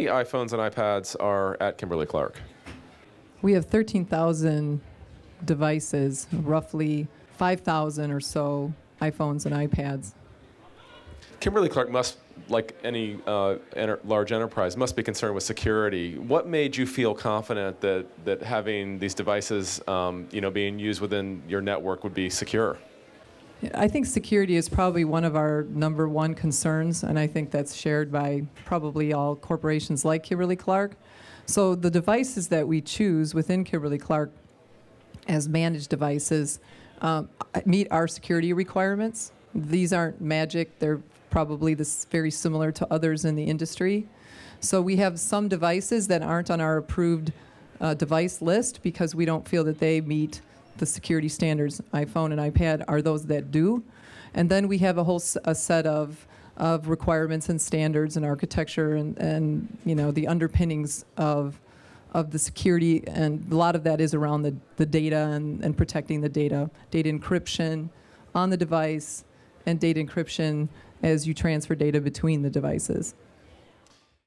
many iPhones and iPads are at Kimberly-Clark? We have 13,000 devices, roughly 5,000 or so iPhones and iPads. Kimberly-Clark must, like any large enterprise, must be concerned with security. What made you feel confident that having these devices being used within your network would be secure? I think security is probably one of our number one concerns, and I think that's shared by probably all corporations like Kimberly-Clark. So the devices that we choose within Kimberly-Clark as managed devices meet our security requirements. These aren't magic. They're probably very similar to others in the industry. So we have some devices that aren't on our approved device list because we don't feel that they meet the security standards. iPhone and iPad are those that do. And then we have a set of requirements and standards and architecture and the underpinnings of the security, and a lot of that is around the data and protecting the data encryption on the device, and data encryption as you transfer data between the devices.